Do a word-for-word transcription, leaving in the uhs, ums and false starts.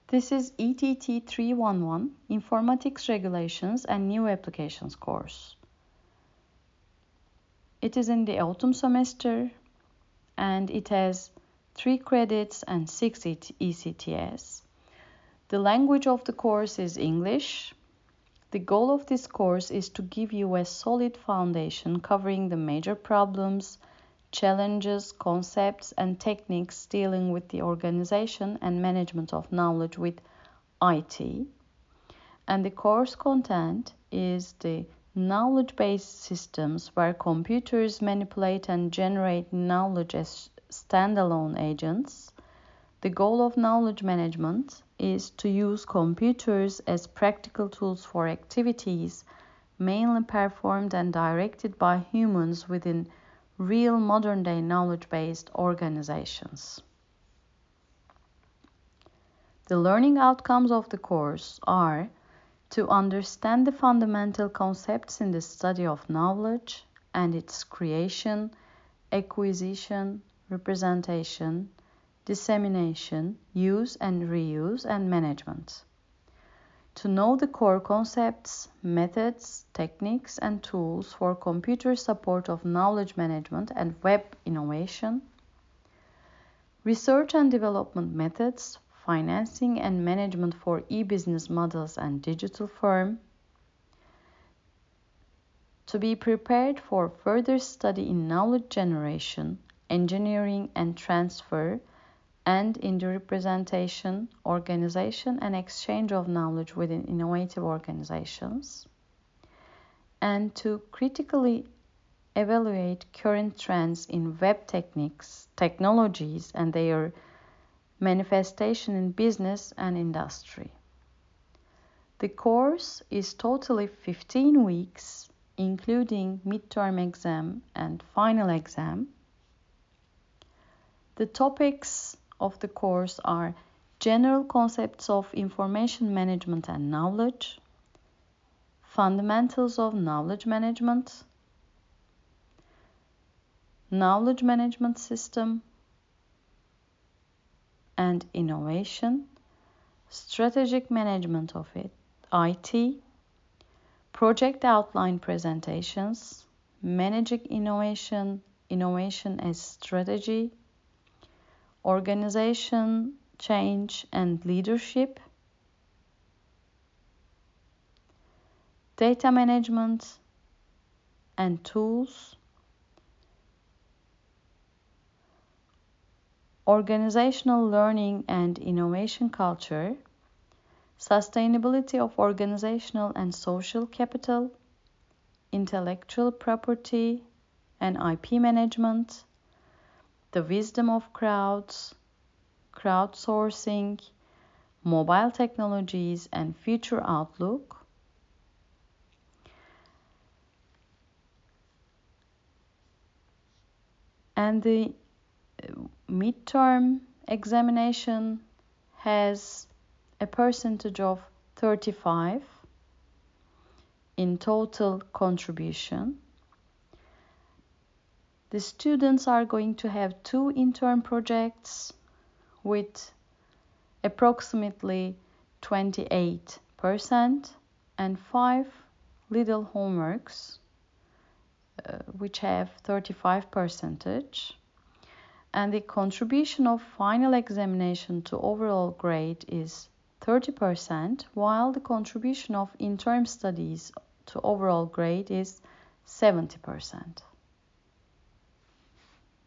This is E T T three eleven, Informatics Regulations and New Applications course. It is in the autumn semester and it has three credits and six E C T S. The language of the course is English. The goal of this course is to give you a solid foundation covering the major problems, challenges, concepts, and techniques dealing with the organization and management of knowledge with I T. And the course content is the knowledge-based systems where computers manipulate and generate knowledge as standalone agents. The goal of knowledge management is to use computers as practical tools for activities mainly performed and directed by humans within real modern-day knowledge-based organizations. The learning outcomes of the course are to understand the fundamental concepts in the study of knowledge and its creation, acquisition, representation, dissemination, use and reuse, and management. To know the core concepts, methods, techniques, and tools for computer support of knowledge management and web innovation. Research and development methods, financing and management for e-business models and digital firm. To be prepared for further study in knowledge generation, engineering and transfer, and in the representation, organization, and exchange of knowledge within innovative organizations, and to critically evaluate current trends in web techniques, technologies, and their manifestation in business and industry. The course is totally fifteen weeks, including midterm exam and final exam. The topics of the course are general concepts of information management and knowledge, fundamentals of knowledge management, knowledge management system and innovation, strategic management of it, I T, project outline presentations, managing innovation, innovation as strategy, organization, change and leadership, data management and tools, organizational learning and innovation culture, sustainability of organizational and social capital, intellectual property and I P management, the wisdom of crowds, crowdsourcing, mobile technologies, and future outlook. And the midterm examination has a percentage of thirty-five in total contribution. The students are going to have two intern projects with approximately twenty-eight percent and five little homeworks uh, which have thirty-five percentage. And the contribution of final examination to overall grade is thirty percent, while the contribution of interim studies to overall grade is seventy percent.